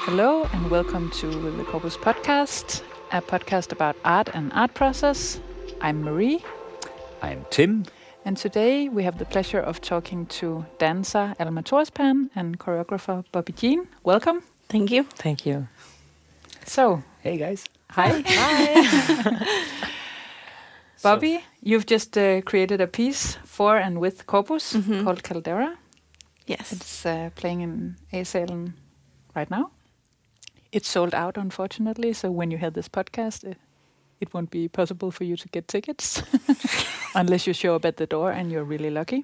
Hello and welcome to the Corpus Podcast, a podcast about art and art process. I'm Marie. I'm Tim. And today we have the pleasure of talking to dancer Alma Thorspan and choreographer Bobby Jean. Welcome. Thank you. Thank you. So, Hey guys. hi. Hi. Bobby, you've just created a piece for and with Corpus called Caldera. Yes. It's playing in A-Salen right now. It's sold out, unfortunately, so when you hear this podcast, it won't be possible for you to get tickets unless you show up at the door and you're really lucky.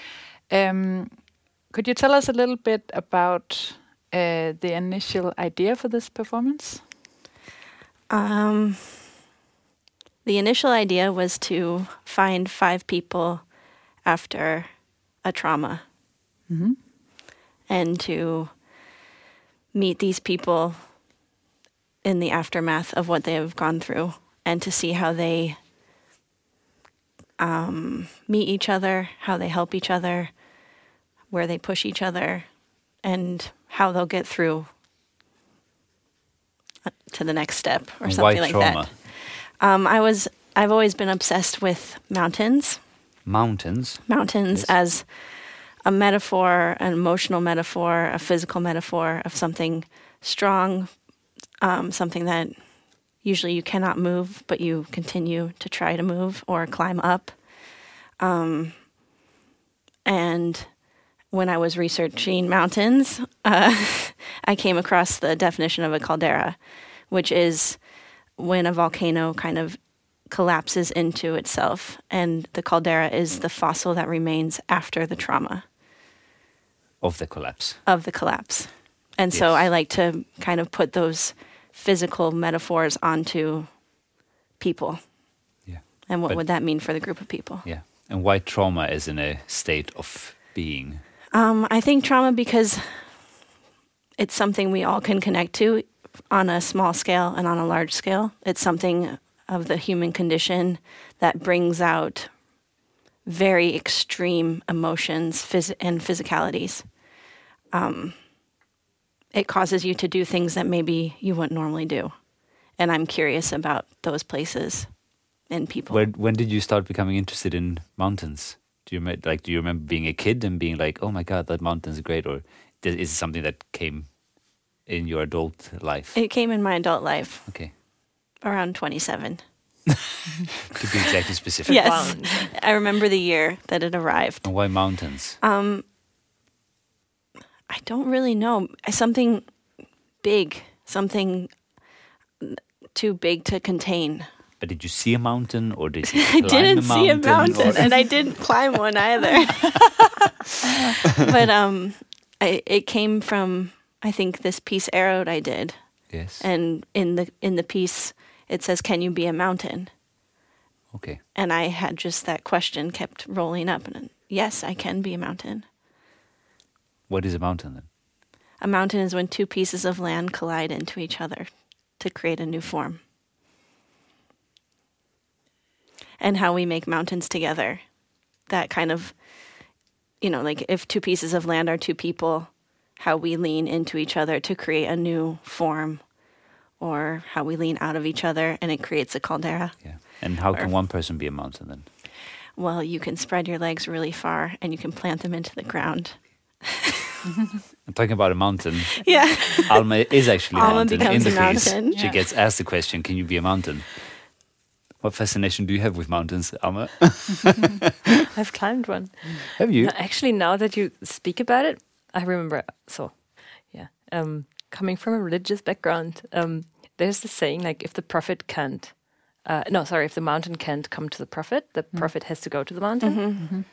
Could you tell us a little bit about the initial idea for this performance? The initial idea was to find 5 people after a trauma and to meet these people in the aftermath of what they have gone through and to see how they meet each other, how they help each other, where they push each other, and how they'll get through to the next step or And something why like trauma? that. I've always been obsessed with mountains. Mountains. Mountains Yes. as a metaphor, an emotional metaphor, a physical metaphor of something strong, something that usually you cannot move, but you continue to try to move or climb up. And when I was researching mountains, I came across the definition of a caldera, which is when a volcano kind of collapses into itself, and the caldera is the fossil that remains after the trauma Of the collapse. of the collapse. And so Yes. I like to kind of put those physical metaphors onto people. Yeah. And what But- would that mean for the group of people? Yeah. And why trauma is in a state of being. I think trauma because it's something we all can connect to on a small scale and on a large scale. It's something of the human condition that brings out very extreme emotions and physicalities. It causes you to do things that maybe you wouldn't normally do. And I'm curious about those places and people. When did you start becoming interested in mountains? Do you remember being a kid and being like, oh my God, that mountain's great? Or is it something that came in your adult life? It came in my adult life Okay. around 27. To be exactly specific. Yes. I remember the year that it arrived. And why mountains? I don't really know. Something big, something too big to contain. But did you see a mountain or did you I climb didn't see a mountain, or- and I didn't climb one either. But it came from, I think, this piece Arrowed I did, Yes. and in the piece it says, "Can you be a mountain?" Okay. And I had just that question kept rolling up, and yes, I can be a mountain. What is a mountain then? A mountain is when 2 pieces of land collide into each other to create a new form. And how we make mountains together. That kind of, like if 2 pieces of land are 2 people, how we lean into each other to create a new form, or how we lean out of each other and it creates a caldera. Yeah. And how can one person be a mountain then? Well, you can spread your legs really far and you can plant them into the ground. I'm talking about a mountain. Yeah. Alma is actually a Alma mountain in becomes the a piece. mountain. She Yeah. gets asked the question, can you be a mountain? What fascination do you have with mountains, Alma? I've climbed one. Have you? No, actually, now that you speak about it, I remember. So, yeah, coming from a religious background, there's the saying like, if the prophet can't, if the mountain can't come to the prophet has to go to the mountain.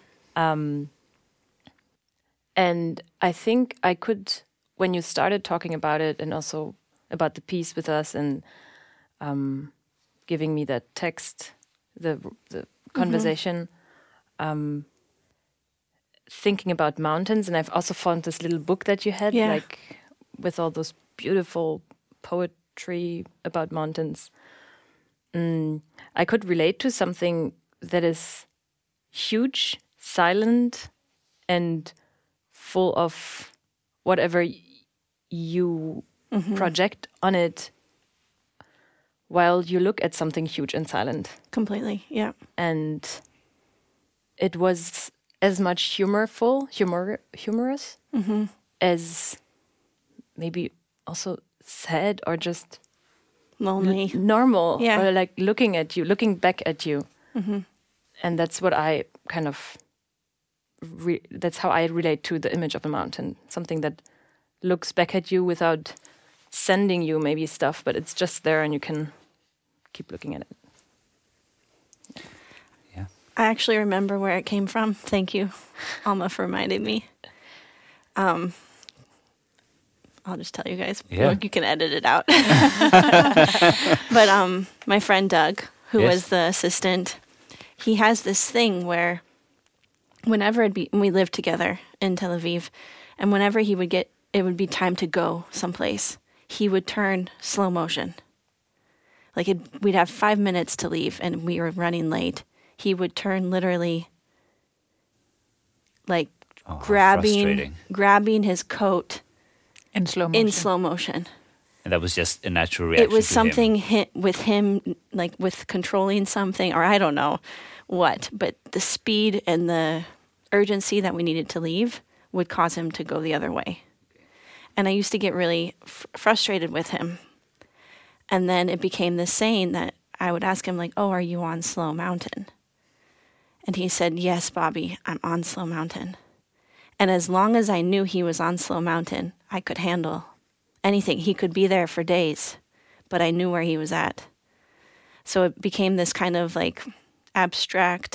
And I think I could, when you started talking about it, and also about the piece with us, and giving me that text, the conversation. Thinking about mountains, and I've also found this little book that you had, Yeah. like with all those beautiful poetry about mountains. I could relate to something that is huge, silent, and full of whatever you project on it while you look at something huge and silent. Completely, yeah. And it was as much humorous as maybe also sad or just Lonely. normal, Yeah. or like looking back at you. And that's what I kind of that's how I relate to the image of a mountain, something that looks back at you without sending you maybe stuff, but it's just there and you can keep looking at it. Yeah. I actually remember where it came from. Thank you, Alma, for reminding me. I'll just tell you guys. Yeah. You can edit it out. But my friend Doug, who Yes. was the assistant, he has this thing where whenever we lived together in Tel Aviv, and whenever it would be time to go someplace, he would turn slow motion. Like we'd have 5 minutes to leave and we were running late. He would turn literally like Oh, how frustrating. grabbing his coat In slow motion. in slow motion. And that was just a natural reaction. It was to something him. with him, like with controlling something, or I don't know what, but the speed and the urgency that we needed to leave would cause him to go the other way. And I used to get really frustrated with him. And then it became this saying that I would ask him, like, oh, are you on Slow Mountain? And he said, yes, Bobby, I'm on Slow Mountain. And as long as I knew he was on Slow Mountain, I could handle anything. He could be there for days, but I knew where he was at. So it became this kind of like abstract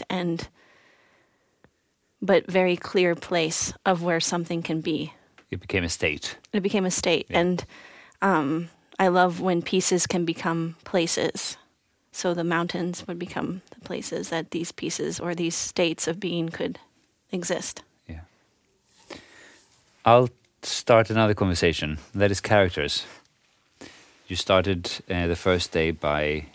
but very clear place of where something can be. It became a state. It became a state. Yeah. And I love when pieces can become places. So the mountains would become the places that these pieces or these states of being could exist. Yeah. I'll start another conversation. That is characters. You started the first day by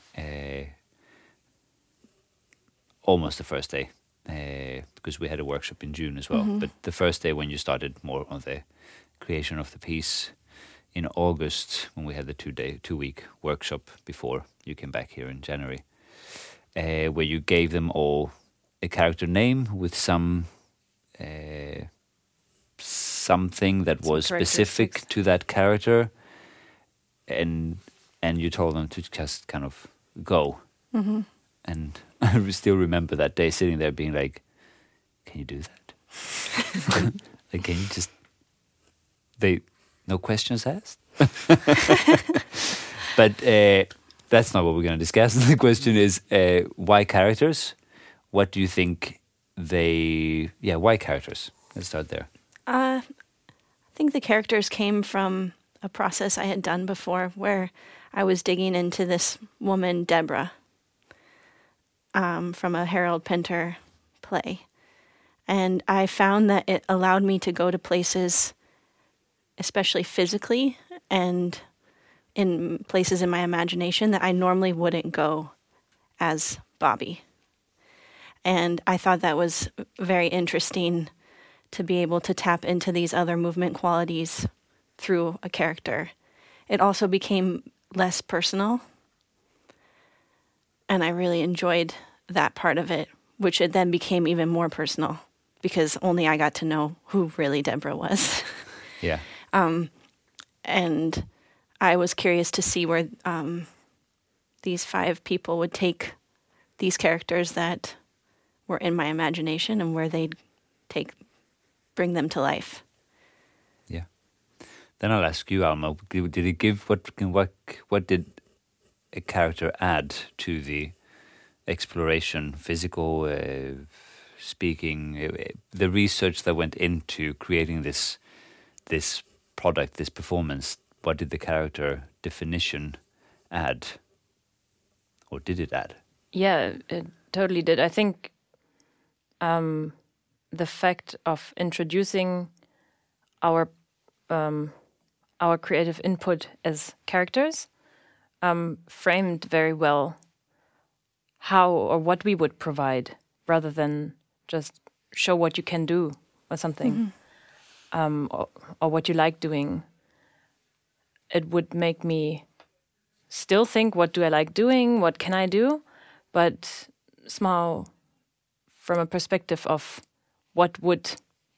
almost the first day because we had a workshop in June as well. But the first day when you started more on the creation of the piece in August, when we had the 2-week workshop before you came back here in January, where you gave them all a character name with some something that was specific characteristics. to that character, and you told them to just kind of go. And I still remember that day sitting there being like, can you do that? Like, can you just no questions asked? But that's not what we're going to discuss. The question is, why characters? What do you think why characters? Let's start there. I think the characters came from a process I had done before where I was digging into this woman, Deborah, from a Harold Pinter play. And I found that it allowed me to go to places, especially physically and in places in my imagination that I normally wouldn't go as Bobby. And I thought that was very interesting to be able to tap into these other movement qualities through a character. It also became less personal. And I really enjoyed that part of it, which it then became even more personal because only I got to know who really Deborah was. Yeah. And I was curious to see where these 5 people would take these characters that were in my imagination and where they'd bring them to life. Yeah. Then I'll ask you, Alma. Did it give what did a character add to the exploration, physical, speaking, the research that went into creating this product, this performance? What did the character definition add, or did it add? Yeah, it totally did. I think the fact of introducing our creative input as characters framed very well how or what we would provide, rather than just show what you can do or something, or what you like doing. it would make me still think, what do I like doing? What can I do? But somehow from a perspective of what would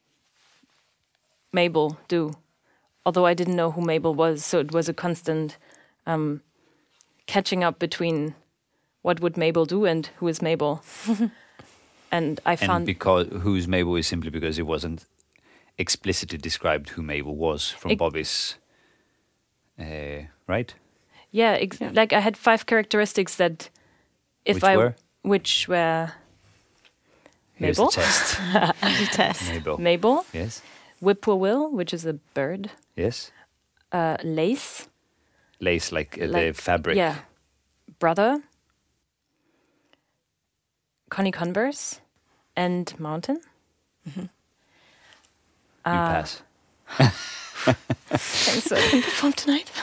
Mabel do? Although I didn't know who Mabel was, so it was a constant catching up between what would Mabel do and who is Mabel. And I found... And because who's Mabel is simply because it wasn't explicitly described who Mabel was from Bobby's... right? Yeah, like I had 5 characteristics that which were Here's Mabel. the test. The test. Mabel. Yes. Whippoorwill, which is a bird. Yes. Lace. Lace, like the fabric. Yeah. Brother. Connie Converse. And Mountain. Mm-hmm. You pass. Thanks, so I can perform tonight.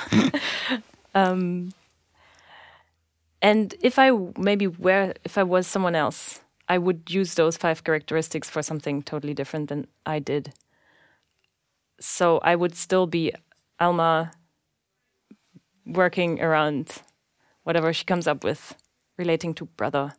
And if I was someone else, I would use those 5 characteristics for something totally different than I did. So I would still be Alma working around whatever she comes up with relating to brother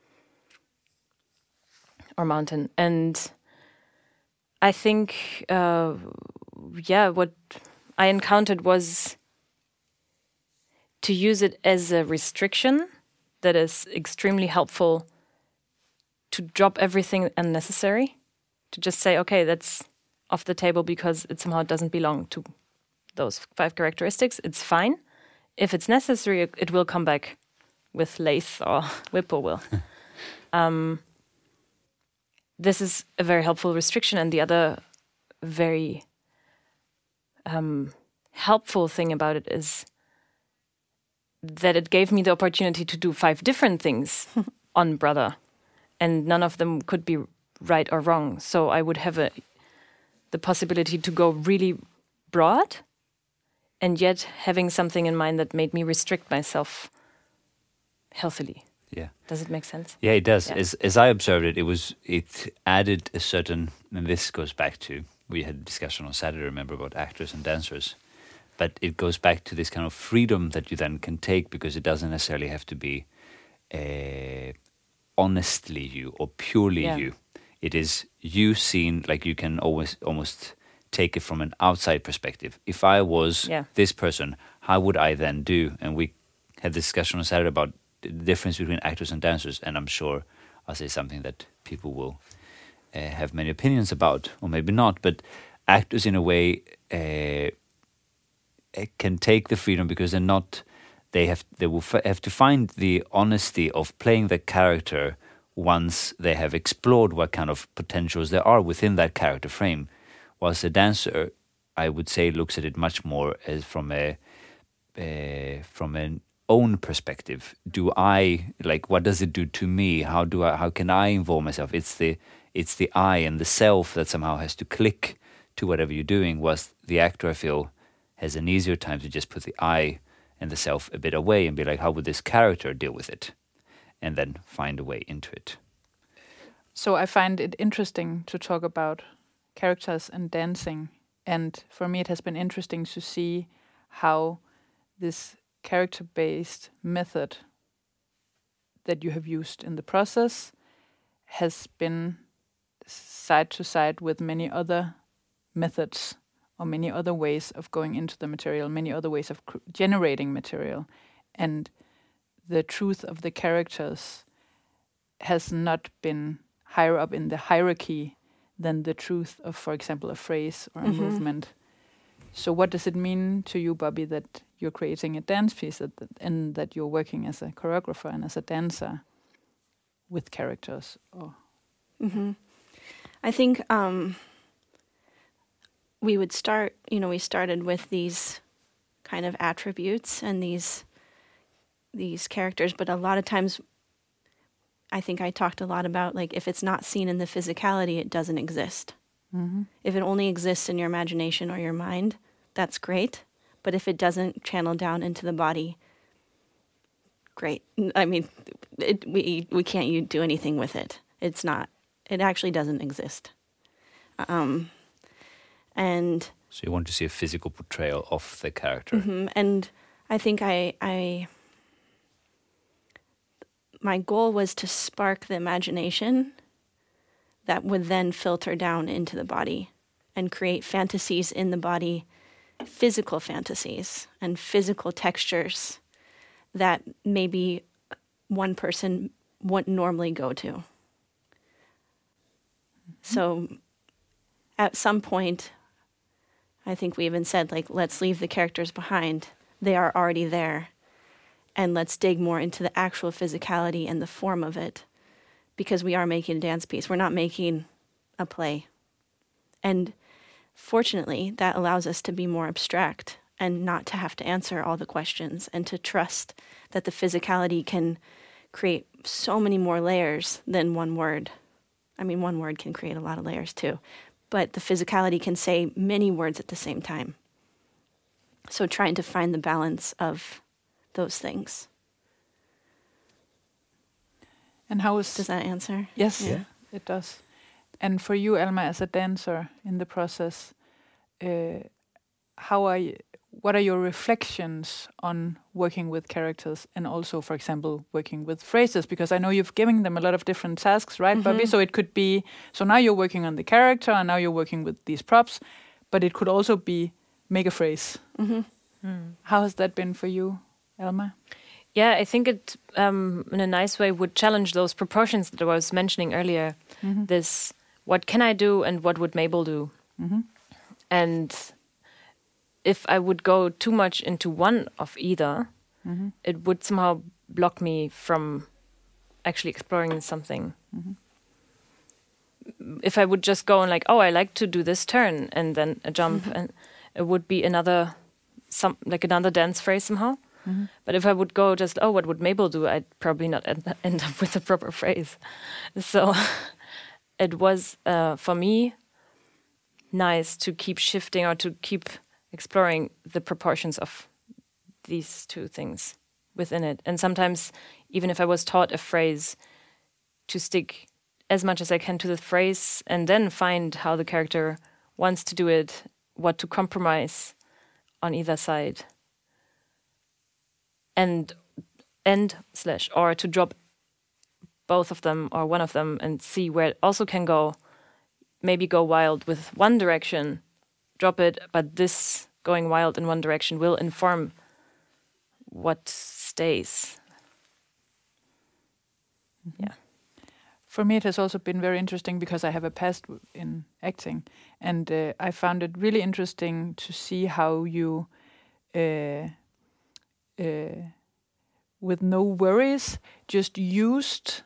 or mountain. And I think, what I encountered was to use it as a restriction that is extremely helpful to drop everything unnecessary, to just say, okay, that's off the table because it somehow doesn't belong to those 5 characteristics. It's fine. If it's necessary, it will come back with Lace or Whippoorwill. This is a very helpful restriction. And the other very helpful thing about it is that it gave me the opportunity to do 5 different things on brother. And none of them could be right or wrong. So I would have the possibility to go really broad and yet having something in mind that made me restrict myself healthily. Yeah. Does it make sense? Yeah, it does. Yeah. As I observed it, it added a certain, and this goes back to, we had a discussion on Saturday, remember, about actors and dancers. But it goes back to this kind of freedom that you then can take because it doesn't necessarily have to be honestly you or purely you. It is you seen, like you can almost take it from an outside perspective. If I was this person, how would I then do? And we had this discussion on Saturday about the difference between actors and dancers, and I'm sure I'll say something that people will have many opinions about, or maybe not, but actors in a way can take the freedom because they're not... They will have to find the honesty of playing the character once they have explored what kind of potentials there are within that character frame. Whilst a dancer, I would say, looks at it much more as from an own perspective. Do I what does it do to me? How can I involve myself? It's the I and the self that somehow has to click to whatever you're doing. Whilst the actor, I feel, has an easier time to just put the I and the self a bit away and be like, how would this character deal with it? And then find a way into it. So I find it interesting to talk about characters and dancing. And for me, it has been interesting to see how this character-based method that you have used in the process has been side to side with many other methods or many other ways of going into the material, many other ways of generating material. And the truth of the characters has not been higher up in the hierarchy than the truth of, for example, a phrase or a movement. So what does it mean to you, Bobby, that you're creating a dance piece and that you're working as a choreographer and as a dancer with characters? I think we started with these kind of attributes and these characters, but a lot of times I think I talked a lot about, like, if it's not seen in the physicality, it doesn't exist. If it only exists in your imagination or your mind, that's great. But if it doesn't channel down into the body, great. I mean, we can't do anything with it. It actually doesn't exist. And So you want to see a physical portrayal of the character. And I think my goal was to spark the imagination that would then filter down into the body and create fantasies in the body, physical fantasies and physical textures that maybe one person wouldn't normally go to. So at some point, I think we even said, like, let's leave the characters behind. They are already there. And let's dig more into the actual physicality and the form of it, because we are making a dance piece. We're not making a play. And fortunately, that allows us to be more abstract and not to have to answer all the questions, and to trust that the physicality can create so many more layers than one word. I mean, one word can create a lot of layers too, but the physicality can say many words at the same time. So trying to find the balance of those things. And how is... Does that answer? Yes, Yeah. it does. And for you, Alma, as a dancer in the process, what are your reflections on working with characters, and also, for example, working with phrases? Because I know you've given them a lot of different tasks, right, Bobby? So it could be, so now you're working on the character, and now you're working with these props, but it could also be make a phrase. How has that been for you, Alma? Yeah, I think it, in a nice way, would challenge those proportions that I was mentioning earlier. This, what can I do and what would Mabel do? And if I would go too much into one of either, it would somehow block me from actually exploring something. If I would just go and like, oh, I like to do this turn and then a jump, and it would be another dance phrase somehow. But if I would go just, oh, what would Mabel do? I'd probably not end up with a proper phrase. So it was, for me, nice to keep shifting or to keep exploring the proportions of these two things within it. And sometimes, even if I was taught a phrase, to stick as much as I can to the phrase and then find how the character wants to do it, what to compromise on either side. Or to drop both of them or one of them and see where it also can go. Maybe go wild with one direction, drop it, but this going wild in one direction will inform what stays. Yeah. For me, it has also been very interesting because I have a past in acting, and I found it really interesting to see how you, with no worries, just used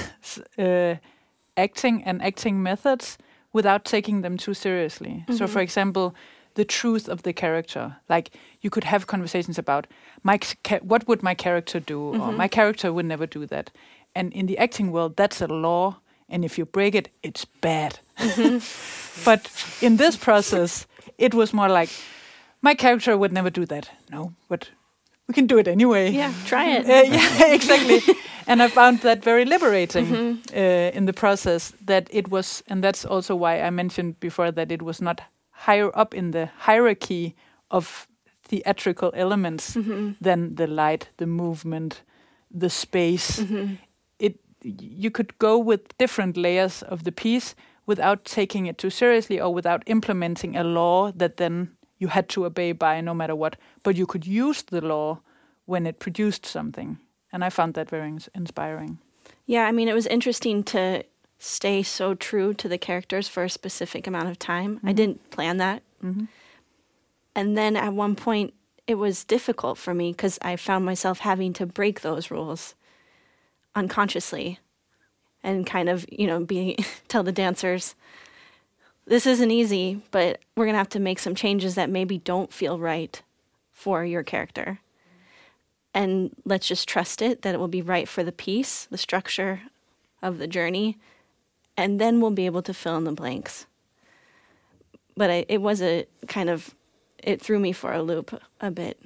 acting and acting methods without taking them too seriously. So, for example, the truth of the character. Like, you could have conversations about, what would my character do? Or my character would never do that. And in the acting world, that's a law. And if you break it, it's bad. But in this process, it was more like, my character would never do that. No, but we can do it anyway. Yeah, try it. Yeah, exactly. And I found that very liberating in the process, that it was, and that's also why I mentioned before that it was not higher up in the hierarchy of theatrical elements than the light, the movement, the space. You could go with different layers of the piece without taking it too seriously or without implementing a law that then you had to obey by no matter what. But you could use the law when it produced something. And I found that very inspiring. Yeah, I mean, it was interesting to stay so true to the characters for a specific amount of time. I didn't plan that. And then at one point, it was difficult for me because I found myself having to break those rules unconsciously and kind of, tell the dancers, this isn't easy, but we're going to have to make some changes that maybe don't feel right for your character. And let's just trust it, that it will be right for the piece, the structure of the journey, and then we'll be able to fill in the blanks. But it was it threw me for a loop a bit.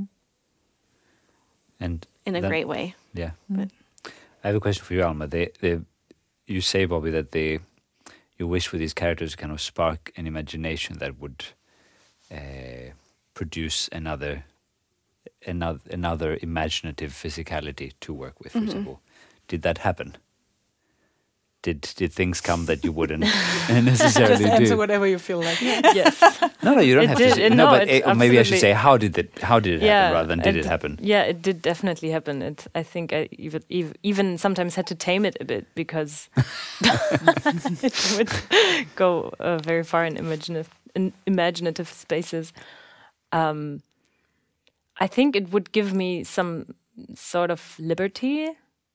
And in a great way. Yeah. But I have a question for you, Alma. You say, Bobby, that you wish for these characters to kind of spark an imagination that would produce another imaginative physicality to work with, for example. Did that happen? Did things come that you wouldn't necessarily Just answer do? whatever you feel like. Yes. No, you don't It have did. to. Say, No, but it maybe I should absolutely- say how did it happen rather than did it happen? Yeah, it did definitely happen. I think I even sometimes had to tame it a bit because it would go very far in imaginative spaces. I think it would give me some sort of liberty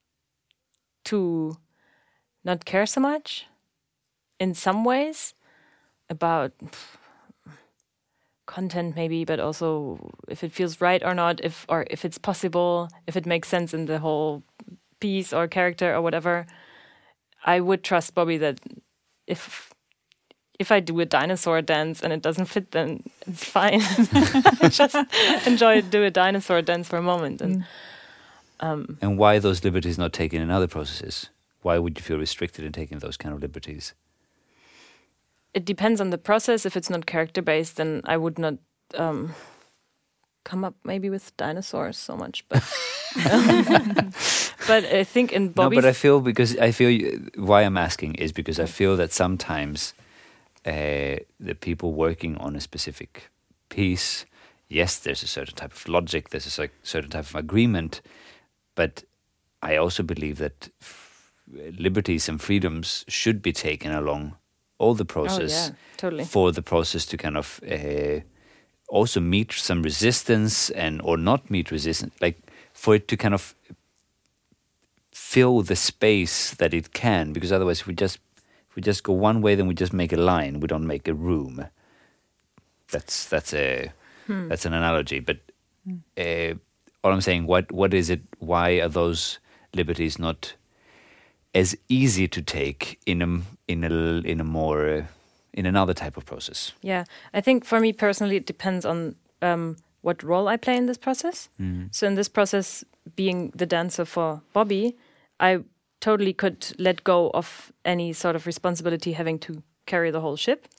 to not care so much in some ways about content maybe, but also if it feels right or not, if it's possible, if it makes sense in the whole piece or character or whatever. I would trust Bobby that if I do a dinosaur dance and it doesn't fit, then it's fine. Just do a dinosaur dance for a moment. And why those liberties not taken in other processes? Why would you feel restricted in taking those kind of liberties? It depends on the process. If it's not character based, then I would not come up maybe with dinosaurs so much. But but I think in Bobby's... No, but I feel why I'm asking is because I feel that sometimes the people working on a specific piece, yes, there's a certain type of logic, there's a certain type of agreement, but I also believe that liberties and freedoms should be taken along all the process totally. for the process to kind of also meet some resistance or not meet resistance, like for it to kind of fill the space that it can, because otherwise if we just go one way, then we just make a line, we don't make a room. That's an analogy, but all I'm saying, what is it? Why are those liberties not as easy to take in another type of process? Yeah, I think for me personally, it depends on what role I play in this process. So in this process, being the dancer for Bobby, I totally could let go of any sort of responsibility having to carry the whole ship,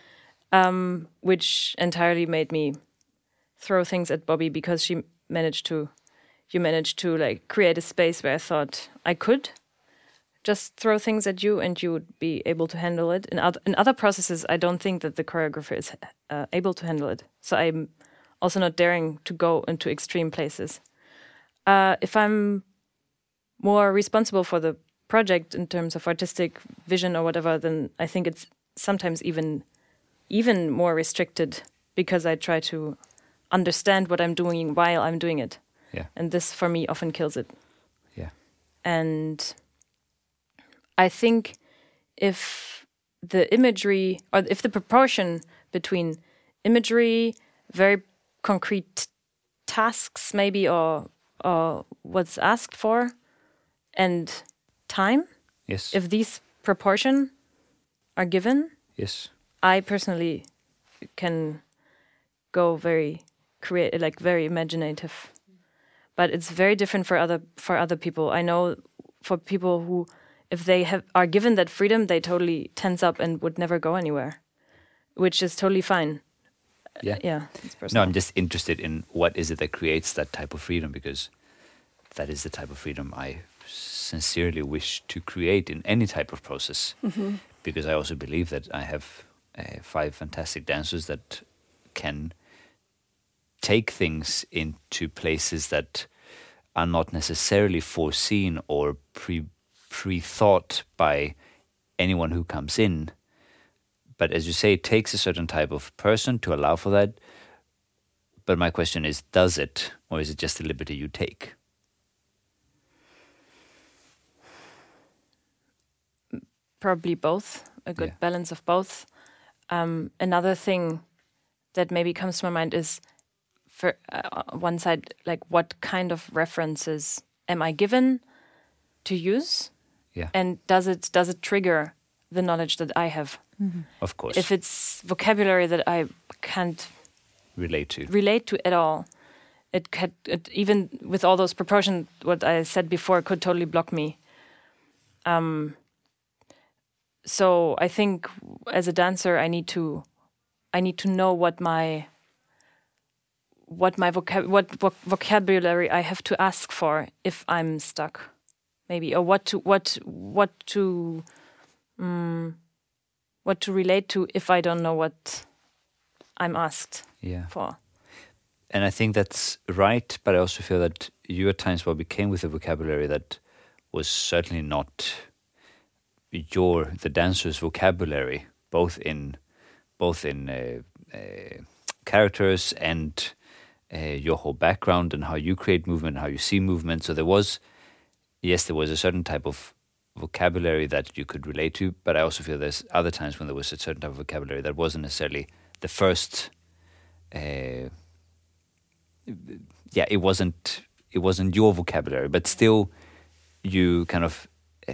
which entirely made me throw things at Bobby because you managed to like create a space where I thought I could just throw things at you and you would be able to handle it. In other processes, I don't think that the choreographer is able to handle it. So I'm also not daring to go into extreme places. If I'm more responsible for the project in terms of artistic vision or whatever, then I think it's sometimes even more restricted because I try to understand what I'm doing while I'm doing it. Yeah. And this, for me, often kills it. Yeah. And I think if the imagery or if the proportion between imagery, very concrete tasks maybe or what's asked for, and time, Yes. if these proportion are given, Yes. I personally can go very creative, like very imaginative. But it's very different for other people. I know for people who, if they are given that freedom, they totally tense up and would never go anywhere, which is totally fine. Yeah. Yeah. It's No, personal. I'm just interested in what is it that creates that type of freedom, because that is the type of freedom I sincerely wish to create in any type of process. Mm-hmm. Because I also believe that I have 5 fantastic dancers that can take things into places that are not necessarily foreseen or pre-thought by anyone who comes in. But as you say, it takes a certain type of person to allow for that. But my question is, does it, or is it just a liberty you take? Probably both, a good Yeah. balance of both. Another thing that maybe comes to my mind is, for one side, like what kind of references am I given to use? Yeah. And does it trigger the knowledge that I have? Of course. If it's vocabulary that I can't relate to at all, it even with all those proportions, what I said before, could totally block me. So I think as a dancer, I need to know what my what my vocabulary I have to ask for if I'm stuck, maybe, or what to relate to if I don't know what I'm asked for. And I think that's right, but I also feel that you at times Bobby came with a vocabulary that was certainly not the dancer's vocabulary, both in characters and your whole background and how you create movement, how you see movement. So there was a certain type of vocabulary that you could relate to, but I also feel there's other times when there was a certain type of vocabulary that wasn't necessarily the first. It wasn't your vocabulary, but still, you kind of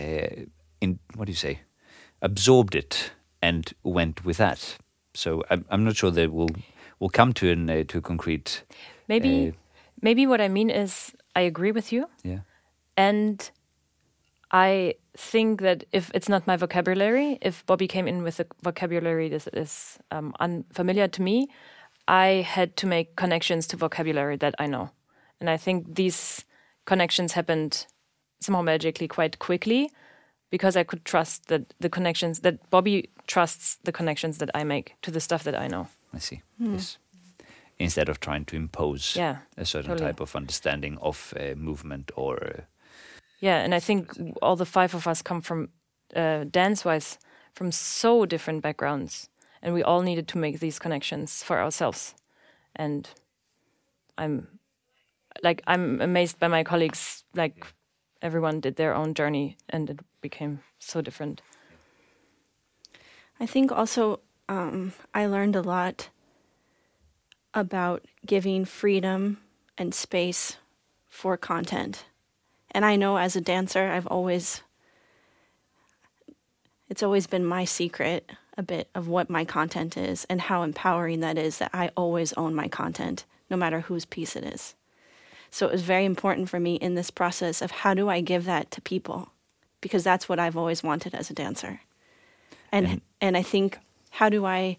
absorbed it and went with that. So I'm not sure that we'll come to a concrete. Maybe what I mean is I agree with you. Yeah. And I think that if it's not my vocabulary, if Bobby came in with a vocabulary that is unfamiliar to me, I had to make connections to vocabulary that I know. And I think these connections happened somehow magically quite quickly because I could trust that Bobby trusts the connections that I make to the stuff that I know. I see. Yes. Instead of trying to impose a certain type of understanding of movement or... and I think all the five of us come from, dance-wise, from so different backgrounds. And we all needed to make these connections for ourselves. And I'm amazed by my colleagues, like everyone did their own journey and it became so different. I think also I learned a lot about giving freedom and space for content. And I know as a dancer, it's always been my secret a bit of what my content is and how empowering that is, that I always own my content, no matter whose piece it is. So it was very important for me in this process of how do I give that to people? Because that's what I've always wanted as a dancer. And I think, how do I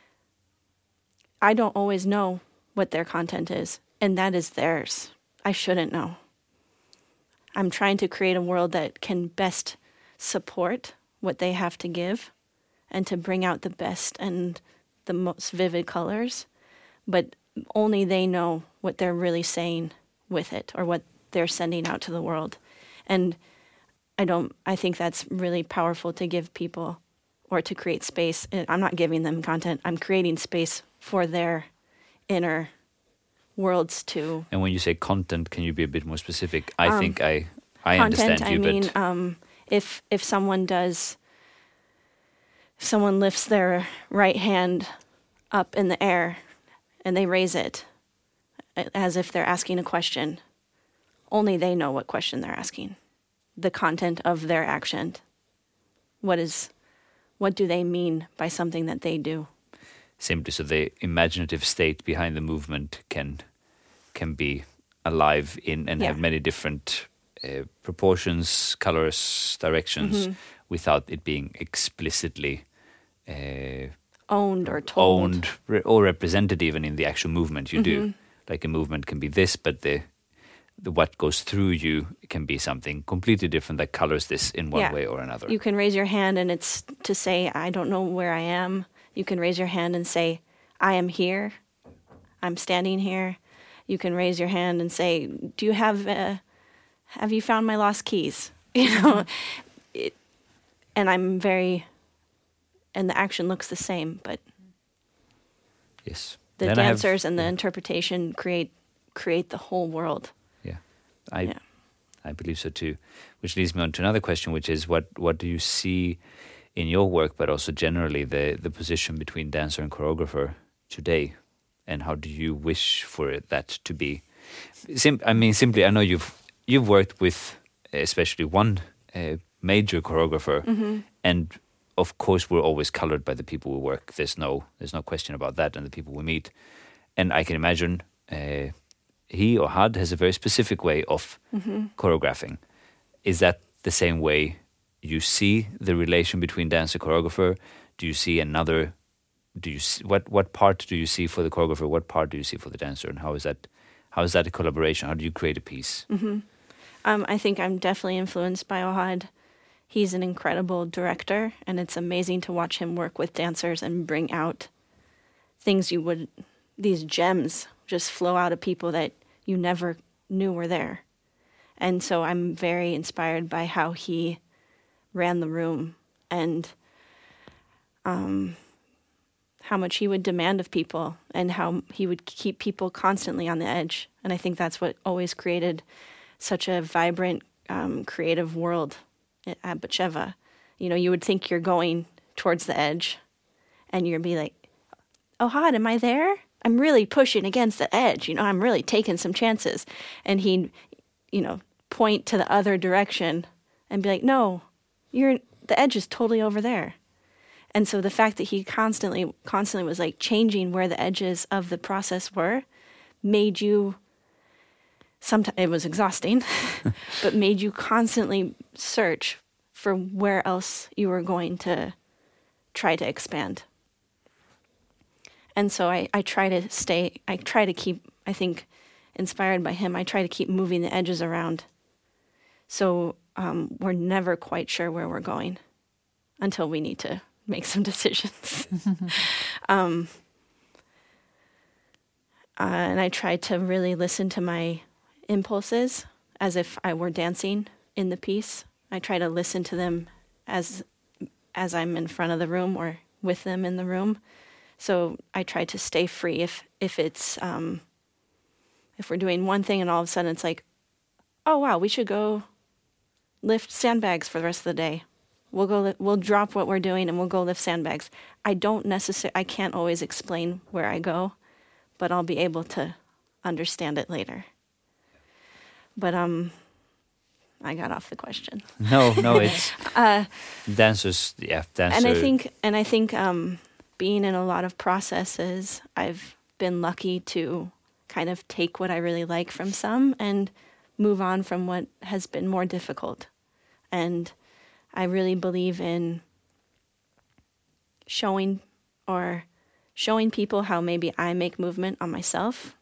don't always know what their content is, and that is theirs. I shouldn't know. I'm trying to create a world that can best support what they have to give and to bring out the best and the most vivid colors, but only they know what they're really saying with it or what they're sending out to the world. And I think that's really powerful to give people or to create space. I'm not giving them content. I'm creating space for their inner worlds to... And when you say content, can you be a bit more specific? I think I understand you, but... if someone does... If someone lifts their right hand up in the air and they raise it as if they're asking a question, only they know what question they're asking. The content of their action. What do they mean by something that they do? Simply so the imaginative state behind the movement can be alive in and have many different proportions, colors, directions, without it being explicitly owned or told. Or represented even in the actual movement you do. Like a movement can be this, but the what goes through you can be something completely different that colors this in one way or another. You can raise your hand and it's to say, I don't know where I am. You can raise your hand and say, I am here. I'm standing here. You can raise your hand and say, do you have you found my lost keys? And the action looks the same, but yes, the dancers and the interpretation create the whole world. I believe so too. Which leads me on to another question, which is what do you see in your work, but also generally the position between dancer and choreographer today, and how do you wish for that to be? Simply, I know you've worked with especially one major choreographer, and of course we're always colored by the people we work. There's no question about that, and the people we meet. And I can imagine he or Had has a very specific way of choreographing. Is that the same way you see the relation between dancer and choreographer? Do you see another do you what part do you see for the choreographer? What part do you see for the dancer? And how is that a collaboration? How do you create a piece? I think I'm definitely influenced by Ohad. He's an incredible director, and it's amazing to watch him work with dancers and bring out things these gems just flow out of people that you never knew were there. And so I'm very inspired by how he ran the room and how much he would demand of people and how he would keep people constantly on the edge. And I think that's what always created such a vibrant, creative world at Batsheva. You know, you would think you're going towards the edge and you'd be like, Ohad, am I there? I'm really pushing against the edge. You know, I'm really taking some chances. And he'd, point to the other direction and be like, no, the edge is totally over there. And so the fact that he constantly was like changing where the edges of the process were made you, sometimes it was exhausting, but made you constantly search for where else you were going to try to expand. And so I try to keep, I think, inspired by him, I try to keep moving the edges around. So we're never quite sure where we're going until we need to make some decisions. And I try to really listen to my impulses as if I were dancing in the piece. I try to listen to them as I'm in front of the room or with them in the room. So I try to stay free. If it's if we're doing one thing and all of a sudden it's like, oh wow, we should go lift sandbags for the rest of the day. We'll drop what we're doing and we'll go lift sandbags. I can't always explain where I go, but I'll be able to understand it later. But I got off the question. No, it's dancers. Yeah, dancer. And I think being in a lot of processes, I've been lucky to kind of take what I really like from some and move on from what has been more difficult. And I really believe in showing people how maybe I make movement on myself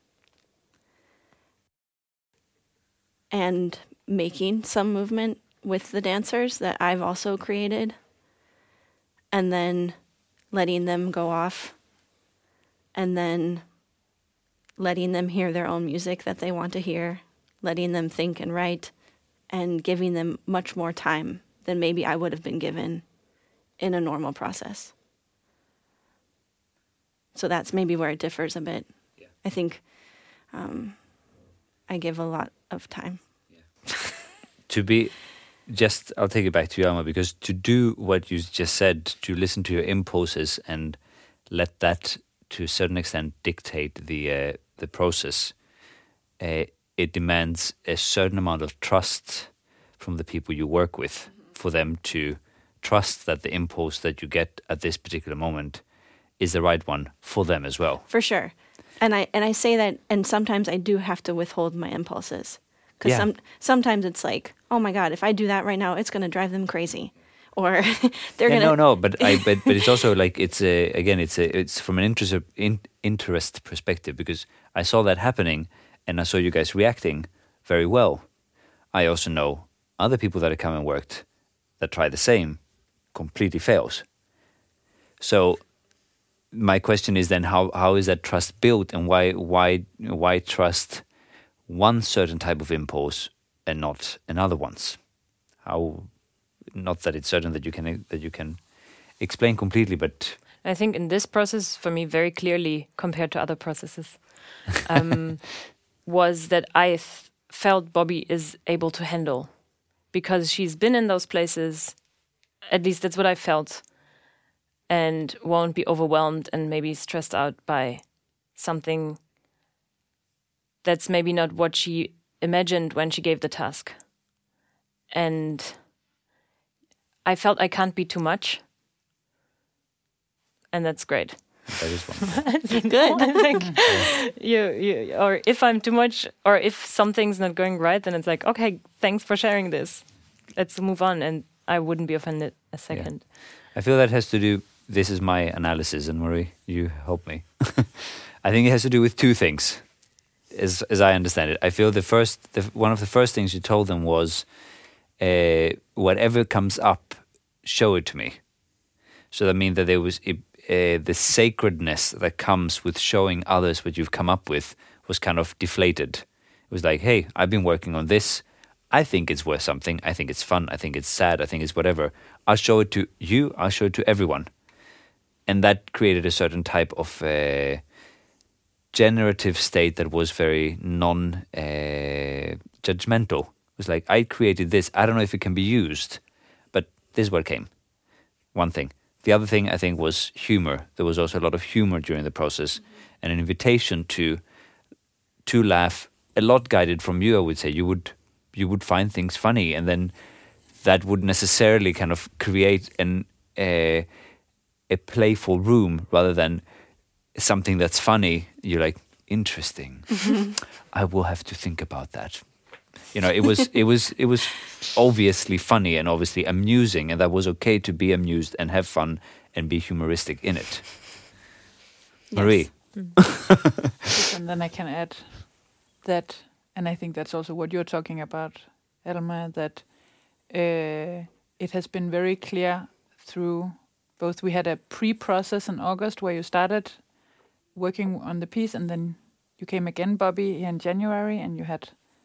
and making some movement with the dancers that I've also created, and then letting them go off, and then letting them hear their own music that they want to hear, letting them think and write, and giving them much more time than maybe I would have been given in a normal process. So that's maybe where it differs a bit. Yeah. I think I give a lot of time. Yeah. I'll take it back to you, Alma, because to do what you just said, to listen to your impulses and let that, to a certain extent, dictate the process, it demands a certain amount of trust from the people you work with, for them to trust that the impulse that you get at this particular moment is the right one for them as well. For sure. And I say that, and sometimes I do have to withhold my impulses. Because sometimes it's like, oh my God, if I do that right now, it's going to drive them crazy. Or they're going to... No, but it's also like, it's from an interest perspective, because I saw that happening and I saw you guys reacting very well. I also know other people that have come and worked that try the same, completely fails. So my question is then, how is that trust built, and why trust one certain type of impulse and not another one's? How, not that it's certain that you can explain completely, but I think in this process, for me, very clearly compared to other processes, was that I felt Bobby is able to handle, because she's been in those places, at least that's what I felt, and won't be overwhelmed and maybe stressed out by something that's maybe not what she imagined when she gave the task. And I felt I can't be too much, and that's great. That is one. Good. I think you, or if I'm too much, or if something's not going right, then it's like, okay, thanks for sharing this. Let's move on, and I wouldn't be offended a second. Yeah. I feel that has to do this is my analysis, and Marie, you help me. I think it has to do with two things, as I understand it. I feel one of the first things you told them was, whatever comes up, show it to me. So that means that there was the sacredness that comes with showing others what you've come up with was kind of deflated. It was like, hey, I've been working on this. I think it's worth something. I think it's fun. I think it's sad. I think it's whatever. I'll show it to you. I'll show it to everyone. And that created a certain type of generative state that was very non-judgmental. It was like, I created this. I don't know if it can be used, but this is what came. One thing. The other thing, I think, was humor. There was also a lot of humor during the process, and an invitation to laugh. A lot guided from you, I would say. You would find things funny, and then that would necessarily kind of create a playful room rather than something that's funny. You're like, interesting. I will have to think about that. You know, it was obviously funny and obviously amusing, and that was okay to be amused and have fun and be humoristic in it. Yes. Marie. Yes, and then I can add that, and I think that's also what you're talking about, Elma, that it has been very clear through both. We had a pre-process in August where you started working on the piece, and then you came again, Bobby, in January, and you had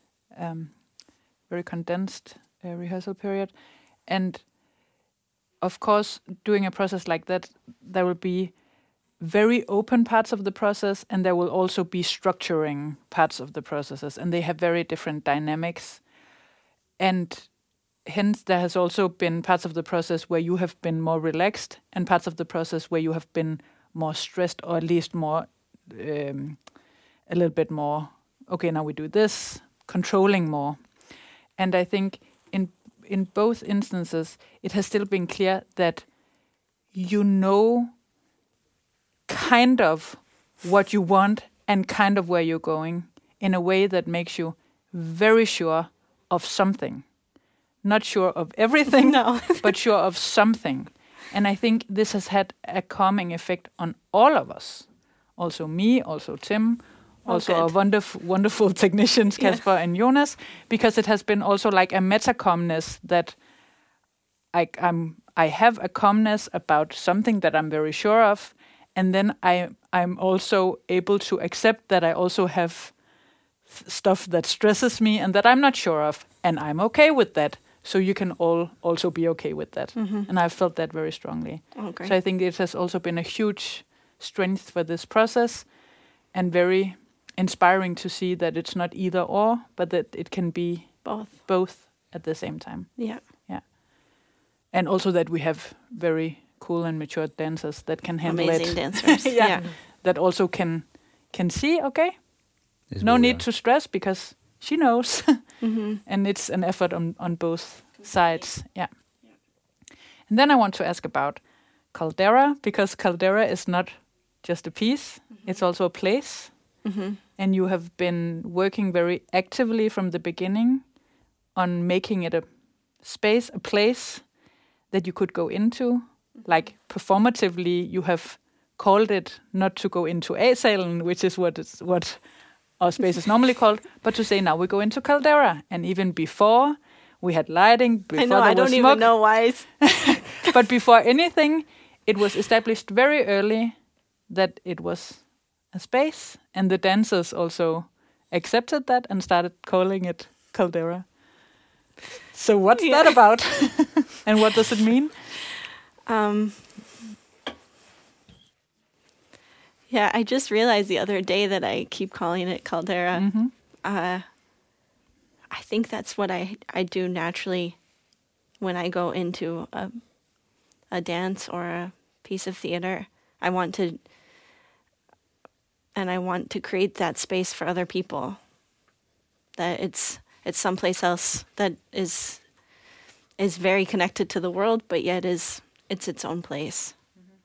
very condensed rehearsal period. And of course, doing a process like that, there will be very open parts of the process, and there will also be structuring parts of the processes, and they have very different dynamics. And hence, there has also been parts of the process where you have been more relaxed, and parts of the process where you have been more stressed, or at least more, a little bit more, okay, now we do this, controlling more. And I think in both instances, it has still been clear that you know kind of what you want and kind of where you're going in a way that makes you very sure of something. Not sure of everything, no. but sure of something. And I think this has had a calming effect on all of us. Also me, also Tim, also our wonderful technicians, Kasper and Jonas, because it has been also like a meta-calmness that I have a calmness about something that I'm very sure of, and then I'm also able to accept that I also have stuff that stresses me and that I'm not sure of, and I'm okay with that. So you can all also be okay with that. Mm-hmm. And I've felt that very strongly. Okay. So I think it has also been a huge strength for this process, and very inspiring to see that it's not either or, but that it can be both at the same time. Yeah. Yeah. And also that we have very cool and mature dancers that can handle amazing it. Dancers. Yeah. That also can see, okay, no need to stress because she knows. Mm-hmm. And it's an effort on both sides. Yeah. And then I want to ask about Caldera, because Caldera is not just a piece, it's also a place. Mm-hmm. And you have been working very actively from the beginning on making it a space, a place that you could go into. Like performatively, you have called it not to go into A-Salen, which is what our space is normally called, but to say now we go into Caldera. And even before, we had lighting. Before I know, I don't even know why. But before anything, it was established very early that it was a space, and the dancers also accepted that and started calling it Caldera. So what's that about? And what does it mean? Yeah, I just realized the other day that I keep calling it Caldera. Mm-hmm. I think that's what I do naturally when I go into a dance or a piece of theater. I want to create that space for other people. That it's someplace else that is very connected to the world, but yet it's its own place.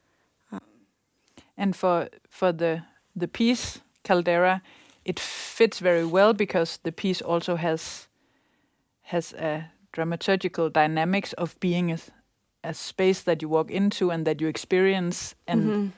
And for the piece Caldera, it fits very well because the piece also has a dramaturgical dynamics of being a space that you walk into and that you experience, and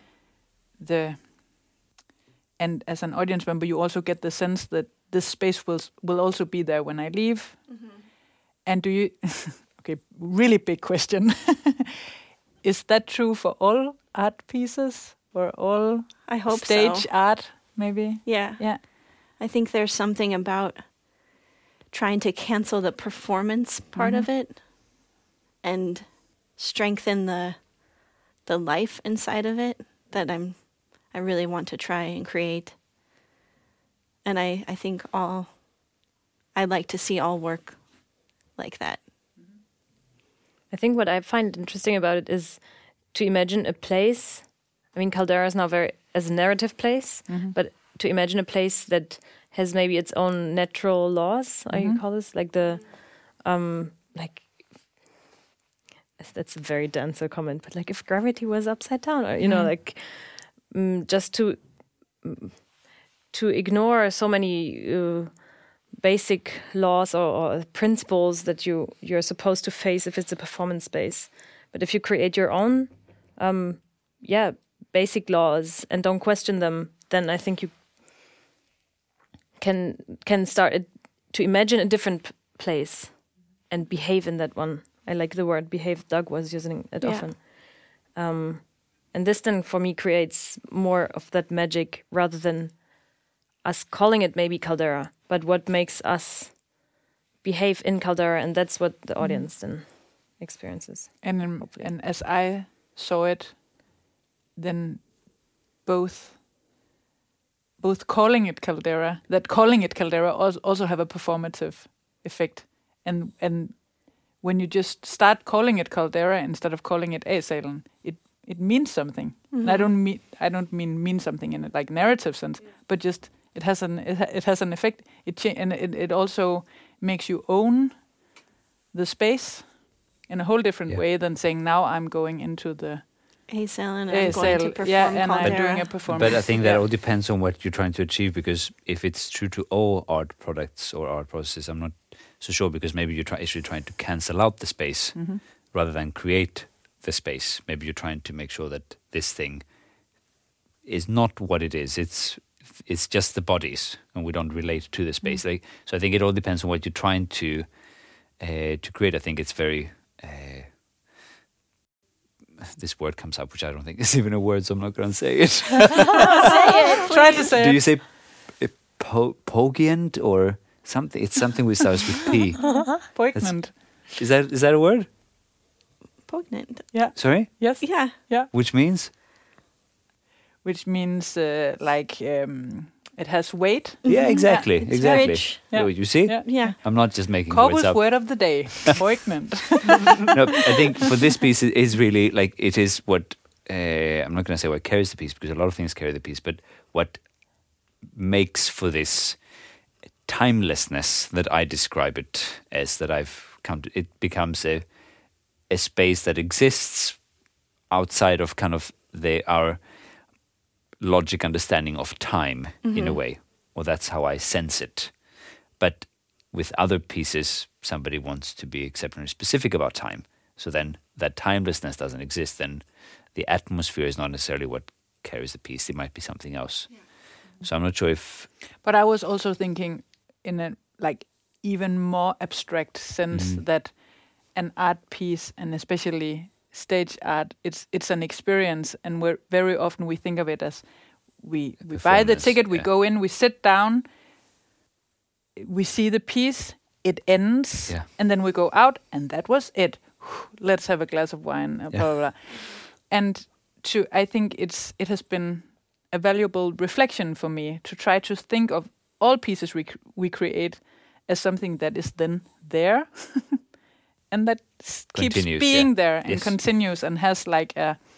and as an audience member, you also get the sense that this space will also be there when I leave. And do you? Okay, really big question. Is that true for all art pieces or all I hope stage so. art? Maybe. Yeah. Yeah. I think there's something about trying to cancel the performance part of it and strengthen the life inside of it that I really want to try and create. And I think I'd like to see all work like that. I think what I find interesting about it is to imagine a place. I mean, Caldera is now very as a narrative place, but to imagine a place that has maybe its own natural laws. I call this like the like. That's a very dense comment, but like if gravity was upside down, or like just to ignore so many basic laws or principles that you're supposed to face if it's a performance space. But if you create your own, basic laws and don't question them, then I think you can start to imagine a different place and behave in that one. I like the word behave. Doug was using it often. And this then for me creates more of that magic rather than us calling it maybe Caldera, but what makes us behave in Caldera, and that's what the audience then experiences. And as I saw it, then both calling it Caldera also have a performative effect, and when you just start calling it Caldera instead of calling it Asalen, it means something. And I don't mean something in a like narrative sense, but just it has an effect. It also makes you own the space in a whole different way than saying now I'm going into the Asalen and I'm going to perform and Caldera. I'm doing a performance. But I think that all depends on what you're trying to achieve, because if it's true to all art products or art processes, I'm not so sure, because maybe you're actually trying to cancel out the space rather than create the space. Maybe you're trying to make sure that this thing is not what it is. It's just the bodies, and we don't relate to the space. So I think it all depends on what you're trying to create. I think it's very this word comes up, which I don't think is even a word, so I'm not going to say it. Say it, please. Try to say Do it. you say poignant or something? It's something which starts with P. Poignant. Is that a word? Poignant. Yeah. Sorry? Yes. Yeah. Which means? Which means it has weight. Yeah, exactly. It's exactly. rich. Yeah. You see? Yeah. I'm not just making words Corbu's up. word of the day. Poignant. No, I think for this piece, it is really like it is what I'm not going to say what carries the piece, because a lot of things carry the piece, but what makes for this timelessness that I describe it as, that I've come to, it becomes a space that exists outside of kind of our logic understanding of time in a way, or that's how I sense it. But with other pieces, somebody wants to be exceptionally specific about time. So then that timelessness doesn't exist. Then the atmosphere is not necessarily what carries the piece. It might be something else. Yeah. So I'm not sure if... But I was also thinking in a like even more abstract sense that an art piece, and especially stage art, it's an experience, and very often we think of it as we buy the ticket, we go in, we sit down, we see the piece, it ends, and then we go out, and that was it. Let's have a glass of wine, blah, blah, blah. And I think it has been a valuable reflection for me to try to think of all pieces we create as something that is then there and that keeps being there and continues and has like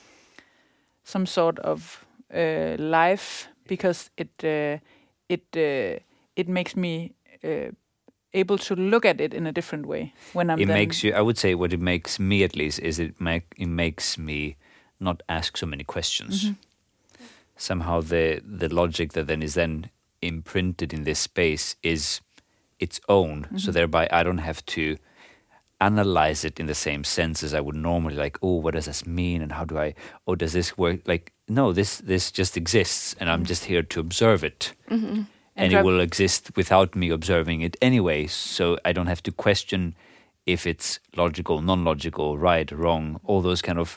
some sort of life, because it makes me able to look at it in a different way when I'm. It makes you. I would say what it makes me, at least, is it makes me not ask so many questions. Somehow the logic that then is then imprinted in this space is its own. So thereby I don't have to analyze it in the same sense as I would normally, like, oh, what does this mean, and how do I, oh, does this work? Like, no, this just exists, and I'm just here to observe it. And it will exist without me observing it anyway, so I don't have to question if it's logical, non-logical, right, wrong, all those kind of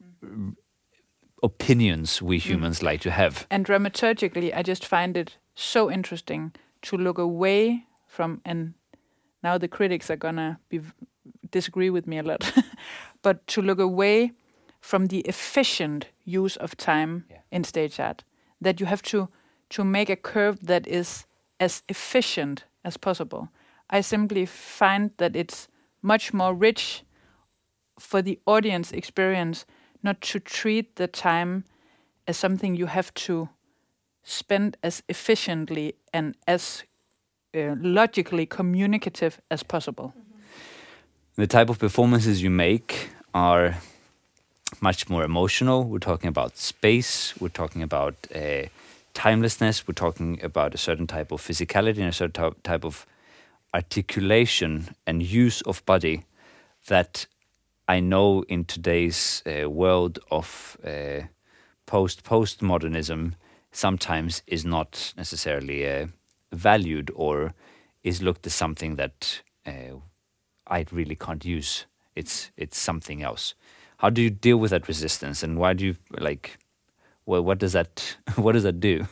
opinions we humans like to have. And dramaturgically, I just find it so interesting to look away from, and now the critics are gonna disagree with me a lot, but to look away from the efficient use of time in stage art, that you have to make a curve that is as efficient as possible. I simply find that it's much more rich for the audience experience not to treat the time as something you have to spend as efficiently and as logically communicative as possible. The type of performances you make are much more emotional. We're talking about space, we're talking about timelessness, we're talking about a certain type of physicality and a certain type of articulation and use of body that I know in today's world of postmodernism sometimes is not necessarily valued or is looked as something that I really can't use. It's something else. How do you deal with that resistance, and why do you like? Well, what does that do?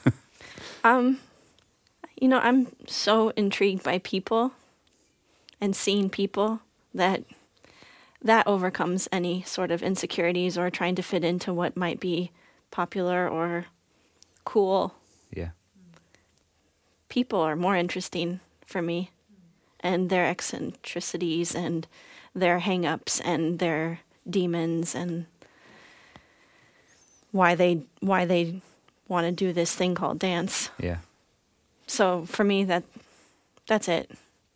I'm so intrigued by people and seeing people that overcomes any sort of insecurities or trying to fit into what might be popular or cool. Yeah. People are more interesting for me, and their eccentricities and their hang-ups and their demons and why they want to do this thing called dance. Yeah. So for me, that's it.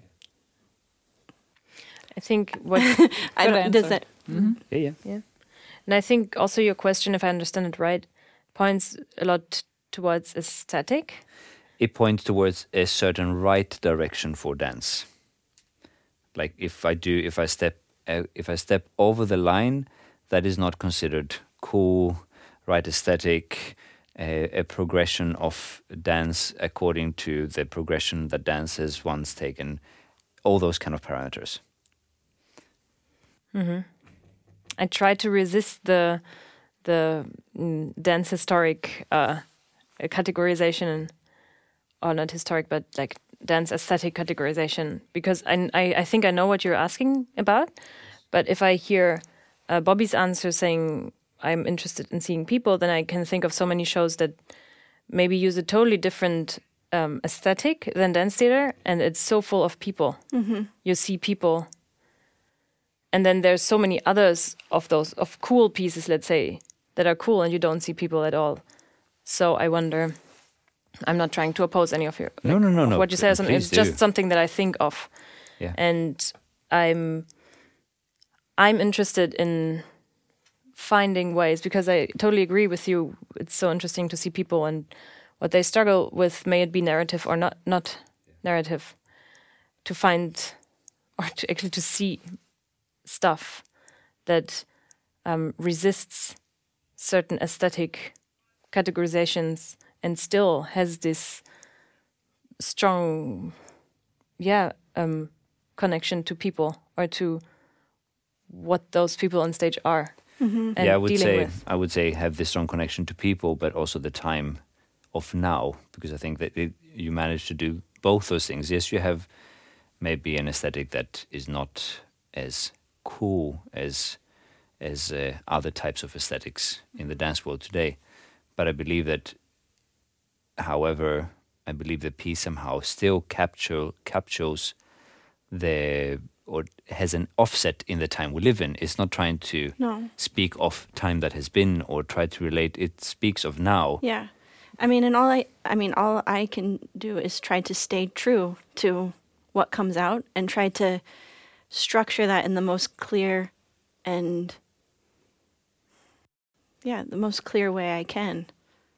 I think what I don't. Does that? Yeah. And I think also your question, if I understand it right, points a lot towards aesthetic. It points towards a certain right direction for dance. Like if I step over the line, that is not considered cool, right aesthetic, a progression of dance according to the progression that dance has once taken, all those kind of parameters. I try to resist the dance historic categorization, or not historic, but like dance aesthetic categorization, because I think I know what you're asking about, but if I hear Bobby's answer saying I'm interested in seeing people, then I can think of so many shows that maybe use a totally different aesthetic than dance theater, and it's so full of people. You see people. And then there's so many others of those, of cool pieces, let's say, that are cool and you don't see people at all. So I wonder, I'm not trying to oppose any of your... No. What you say, it's just something that I think of. Yeah. And I'm interested in finding ways, because I totally agree with you. It's so interesting to see people and what they struggle with, may it be narrative or not narrative, to find, or to actually to see stuff that resists certain aesthetic categorizations and still has this strong connection to people or to what those people on stage are. And I would say have this strong connection to people, but also the time of now, because I think that you manage to do both those things. Yes, you have maybe an aesthetic that is not as cool as other types of aesthetics in the dance world today, but I believe that, however, the piece somehow still captures or has an offset in the time we live in. It's not trying to speak of time that has been or try to relate. It speaks of now. Yeah, all I can do is try to stay true to what comes out and try to structure that in the most clear and the most clear way I can,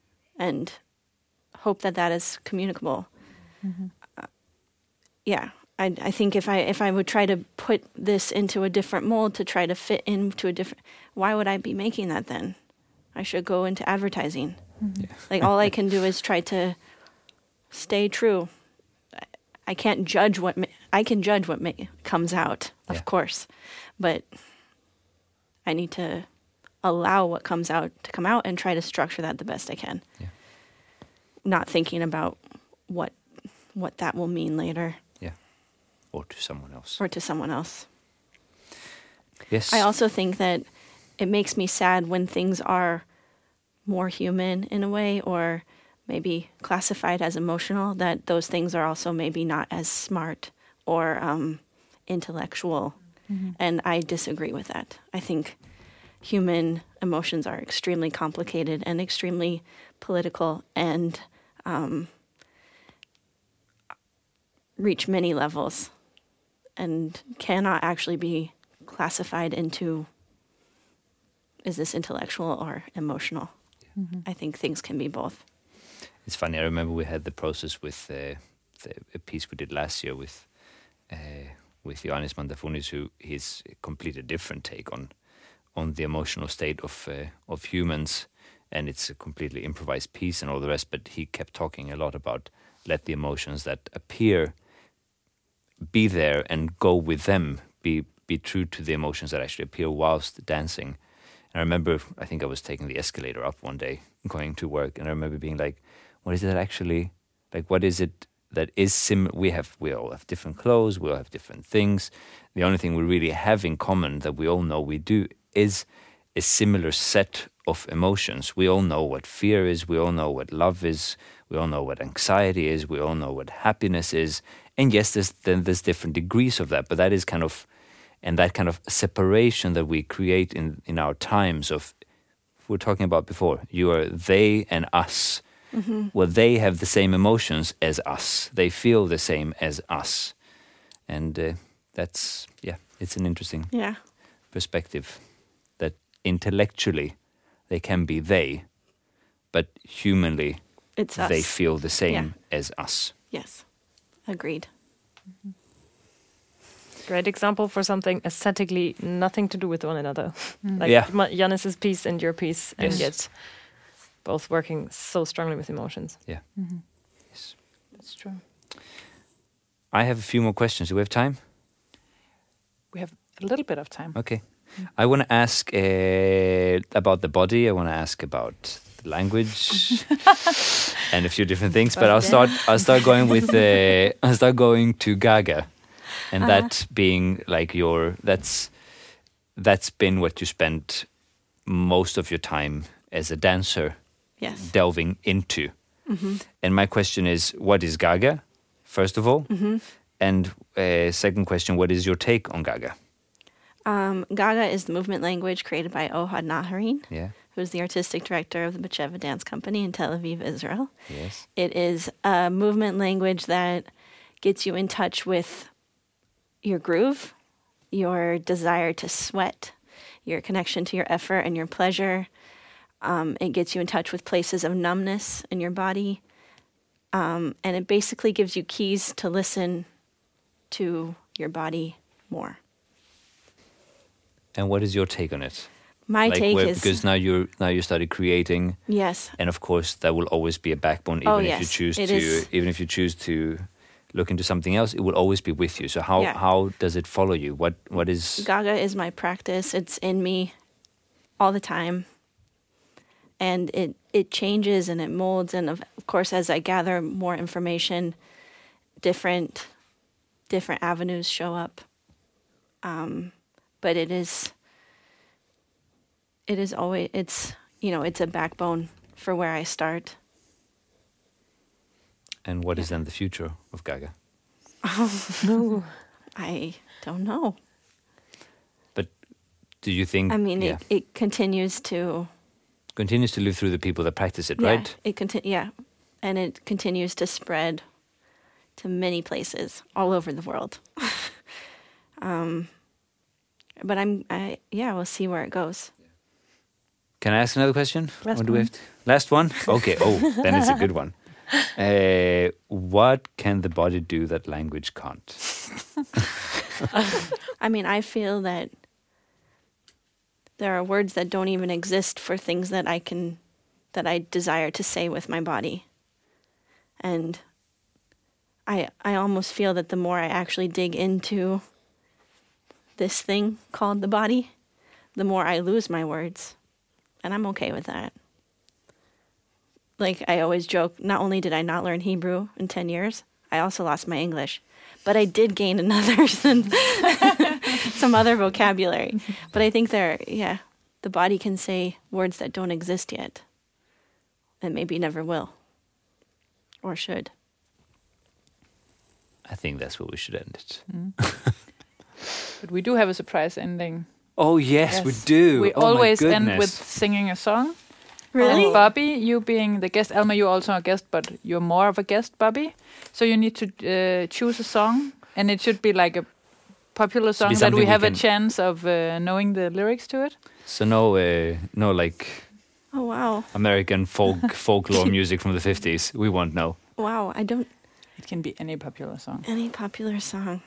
and hope that is communicable. I think if I would try to put this into a different mold to try to fit into a different, why would I be making that then? I should go into advertising. Yeah. Like all I can do is try to stay true. I can't judge I can judge what comes out, of course, but I need to allow what comes out to come out and try to structure that the best I can. Yeah. Not thinking about what that will mean later. Yeah. Or to someone else. Or to someone else. Yes. I also think that it makes me sad when things are more human in a way, or maybe classified as emotional, that those things are also maybe not as smart or intellectual. Mm-hmm. And I disagree with that. I think human emotions are extremely complicated and extremely political and reach many levels and cannot actually be classified into, is this intellectual or emotional? Mm-hmm. I think things can be both. It's funny. I remember we had the process with a piece we did last year with Ioannis Mantafunis, who he's a completely different take on the emotional state of humans, and it's a completely improvised piece and all the rest. But he kept talking a lot about let the emotions that appear be there and go with them. Be true to the emotions that actually appear whilst dancing. And I remember, I think I was taking the escalator up one day, going to work, and I remember being like, what is that actually, like, what is it that is we all have different clothes, we all have different things. The only thing we really have in common that we all know we do is a similar set of emotions. We all know what fear is, we all know what love is, we all know what anxiety is, we all know what happiness is. And yes, there's different degrees of that, but that is kind of, and that kind of separation that we create in our times of, we were talking about before, you are they and us. Mm-hmm. Well, they have the same emotions as us. They feel the same as us. And that's, it's an interesting perspective that intellectually they can be they, but humanly it's us. They feel the same as us. Yes, agreed. Mm-hmm. Great example for something aesthetically nothing to do with one another. Like Ioannis's piece and your piece, and yet both working so strongly with emotions. Yeah. Mm-hmm. Yes. That's true. I have a few more questions. Do we have time? We have a little bit of time. Okay. I want to ask about the body. I want to ask about the language and a few different things. But I'll start going with I'll start going to Gaga. And that being like that's been what you spent most of your time as a dancer delving into. Mm-hmm. And my question is, what is Gaga, first of all? Mm-hmm. And second question, what is your take on Gaga? Gaga is the movement language created by Ohad Naharin, who is the artistic director of the Batsheva Dance Company in Tel Aviv, Israel. Yes. It is a movement language that gets you in touch with your groove, your desire to sweat, your connection to your effort and your pleasure. It gets you in touch with places of numbness in your body. And it basically gives you keys to listen to your body more. And what is your take on it? My take is, because now you started creating. Yes. And of course that will always be a backbone, even if you choose to look into something else, it will always be with you. So how does it follow you? What is Gaga is my practice. It's in me all the time. And it changes and it molds, and of course as I gather more information, different avenues show up. But it is always, it's a backbone for where I start. And what is then the future of Gaga? No, I don't know. But do you think? I mean, it continues to live through the people that practice it, right? And it continues to spread to many places all over the world. But we'll see where it goes. Can I ask another question? Last one? Okay. Oh, then it's a good one. What can the body do that language can't? I mean, I feel that there are words that don't even exist for things that I desire to say with my body. And I almost feel that the more I actually dig into this thing called the body, the more I lose my words. And I'm okay with that. Like, I always joke, not only did I not learn Hebrew in 10 years, I also lost my English. But I did gain another, some other vocabulary. But I think the body can say words that don't exist yet. And maybe never will. Or should. I think that's where we should end it. But we do have a surprise ending. Oh, yes, we do. We Oh, my always end goodness. with singing a song. Really? And Bobby, you being the guest, Alma, you're also a guest, but you're more of a guest, Bobby. So you need to choose a song, and it should be like a popular song that something we we have a can- chance of knowing the lyrics to it. So no like Oh, wow. American folklore music from the 50s. We won't know. Wow, I don't... It can be any popular song. Any popular song.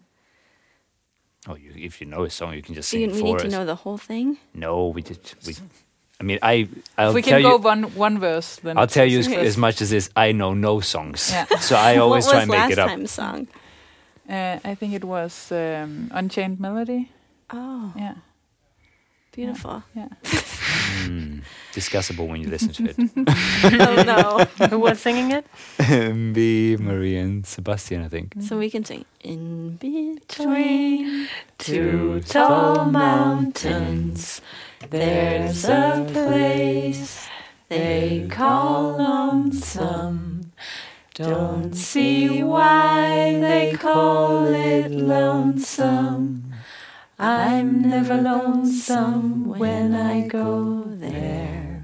Oh, if you know a song, you can just Do sing we it for need us. to know the whole thing? No, I mean, I'll If we tell can go you. one verse, then I'll it's tell you success. as much as this. I know no songs, Yeah. so I always what try was and make last it up. time's song? I think it was Unchained Melody. Oh, Yeah, beautiful. yeah. Discussable when you listen to it. Oh, no. Who was singing it? Be Marie and Sebastian, I think. So we can sing In Between Two tall mountains, there's a place they call lonesome. Don't see why they call it lonesome. I'm never lonesome when I go there.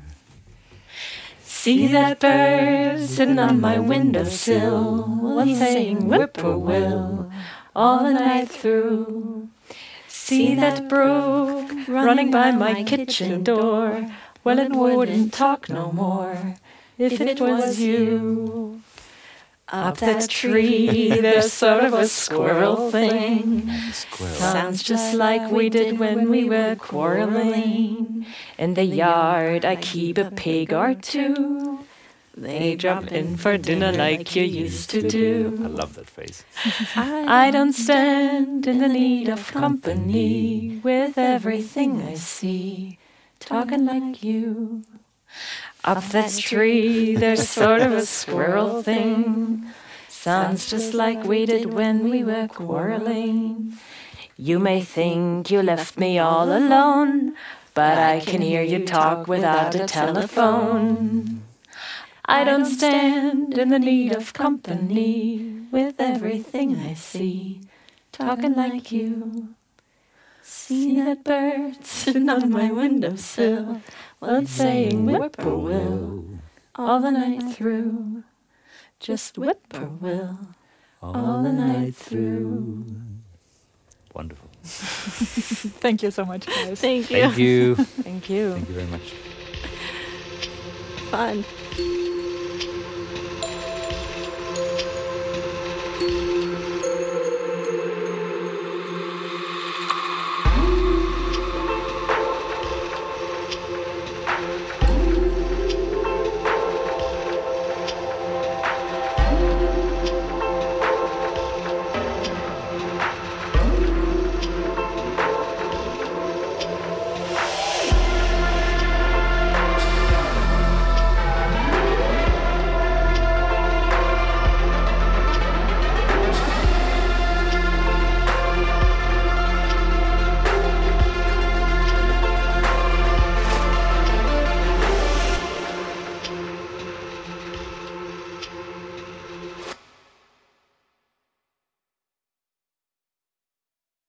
See that bird sitting on my windowsill, well, he's saying whippoorwill all the night through. See that brook running by my kitchen door, well, it wouldn't talk no more if it was you. Up that tree, there's sort of a squirrel thing. Squirrel. Sounds just like we did when we were quarreling. In the yard, I keep a pig or two. They drop in for dinner like you used to I do. love that phrase. I don't stand in the need of company with everything I see, talking like you. Up that tree, there's sort of a squirrel thing. Sounds just like we did when we were quarreling. You may think you left me all alone, but I can hear you talk without a telephone. I don't stand in the need of company with everything I see, talking like you. See that bird sitting on my windowsill, well, it's saying whippoorwill all the night through. Just whippoorwill all the night through. Wonderful. Thank you so much, guys. Thank you. Thank you. Thank you. Thank you very much. Fun.